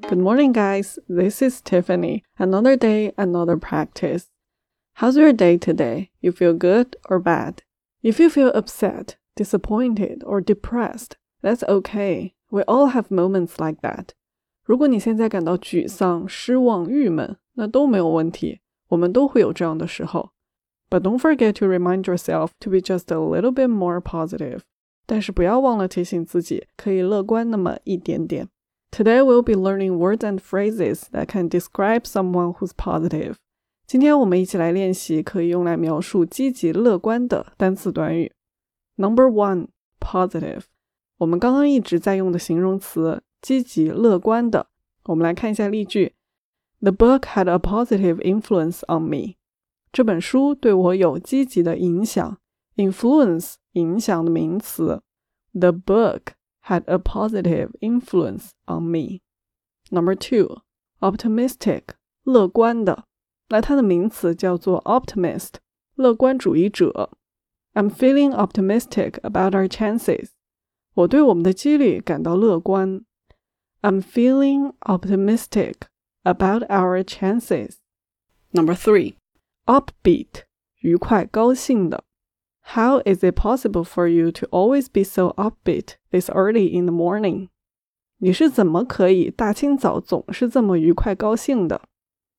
Good morning, guys. This is Tiffany. Another day, another practice. How's your day today? You feel good or bad? If you feel upset, disappointed, or depressed, that's okay. We all have moments like that. 如果你现在感到沮丧、失望、郁闷，那都没有问题，我们都会有这样的时候。But don't forget to remind yourself to be just a little bit more positive. 但是不要忘了提醒自己，可以乐观那么一点点。Today we'll be learning words and phrases that can describe someone who's positive. 今天我们一起来练习可以用来描述积极乐观的单词短语。Number 1, positive. 我们刚刚一直在用的形容词，积极乐观的。我们来看一下例句。The book had a positive influence on me. 这本书对我有积极的影响。Influence, 影响的名词。The book had a positive influence on me. Number 2, optimistic, 乐观的。来，它的名词叫做 optimist, 乐观主义者。I'm feeling optimistic about our chances. 我对我们的几率感到乐观。I'm feeling optimistic about our chances. Number 3, upbeat, 愉快高兴的。How is it possible for you to always be so upbeat this early in the morning? 你是怎么可以大清早总是这么愉快高兴的？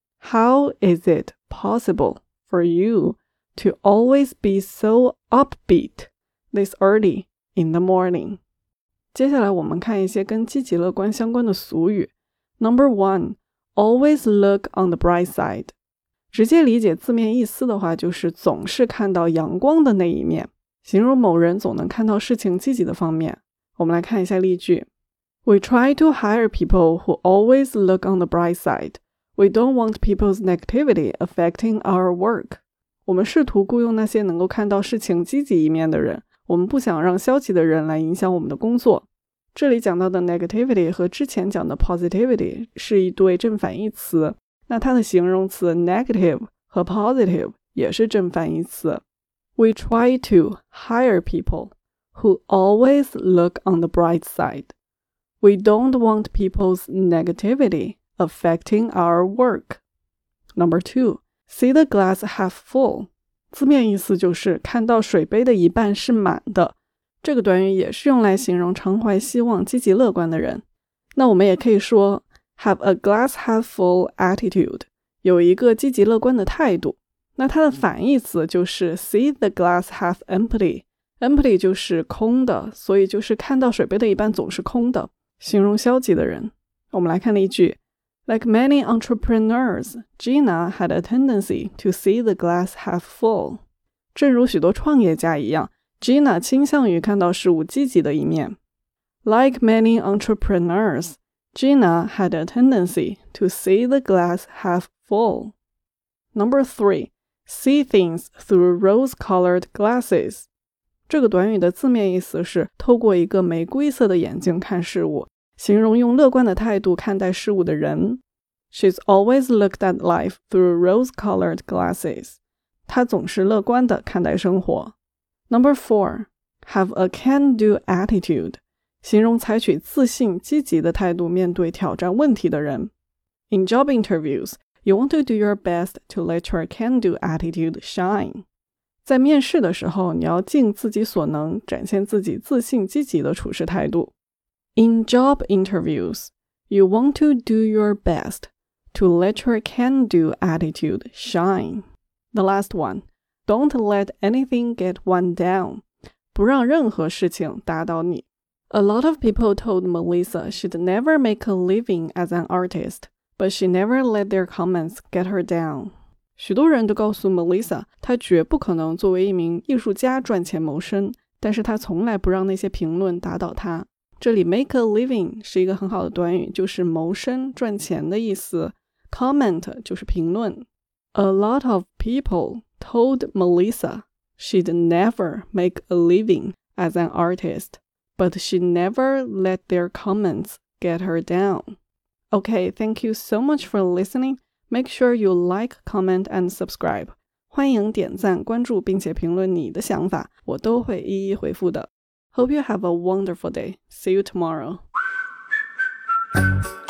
How is it possible for you to always be so upbeat this early in the morning? 接下来我们看一些跟积极乐观相关的俗语。Number 1, always look on the bright side. 直接理解字面意思的话，就是总是看到阳光的那一面，形容某人总能看到事情积极的方面。我们来看一下例句。We try to hire people who always look on the bright side. We don't want people's negativity affecting our work. 我们试图雇佣那些能够看到事情积极一面的人，我们不想让消极的人来影响我们的工作。这里讲到的 negativity 和之前讲的 positivity 是一对正反义词，那它的形容词 negative 和 positive 也是正反义词。We try to hire people who always look on the bright side. We don't want people's negativity affecting our work. Number 2, see the glass half full. 字面意思就是看到水杯的一半是满的。这个短语也是用来形容常怀希望、积极乐观的人。那我们也可以说have a glass half full attitude, 有一个积极乐观的态度。那它的反义词就是 see the glass half empty. Empty 就是空的，所以就是看到水杯的一半总是空的，形容消极的人。我们来看例句。Like many entrepreneurs, Gina had a tendency to see the glass half full. 正如许多创业家一样， Gina 倾向于看到事物积极的一面。Like many entrepreneurs, Gina had a tendency to see the glass half full. Number 3, see things through rose-colored glasses. 这个短语的字面意思是透过一个玫瑰色的眼睛看事物，形容用乐观的态度看待事物的人。She's always looked at life through rose-colored glasses. 她总是乐观地看待生活。Number 4, have a can-do attitude. 形容采取自信、积极的态度面对挑战问题的人。In job interviews, you want to do your best to let your can-do attitude shine. 在面试的时候，你要尽自己所能，展现自己自信、积极的处事态度。In job interviews, you want to do your best to let your can-do attitude shine. The last one, don't let anything get one down. 不让任何事情打倒你。A lot of people told Melissa she'd never make a living as an artist, but she never let their comments get her down. 许多人都告诉 Melissa 她绝不可能作为一名艺术家赚钱谋生，但是她从来不让那些评论打倒她。这里 make a living 是一个很好的短语，就是谋生、赚钱的意思。Comment 就是评论。A lot of people told Melissa she'd never make a living as an artist, but she never let their comments get her down. Okay, thank you so much for listening. Make sure you like, comment, and subscribe. 欢迎点赞、关注并且评论你的想法，我都会一一回复的。Hope you have a wonderful day. See you tomorrow.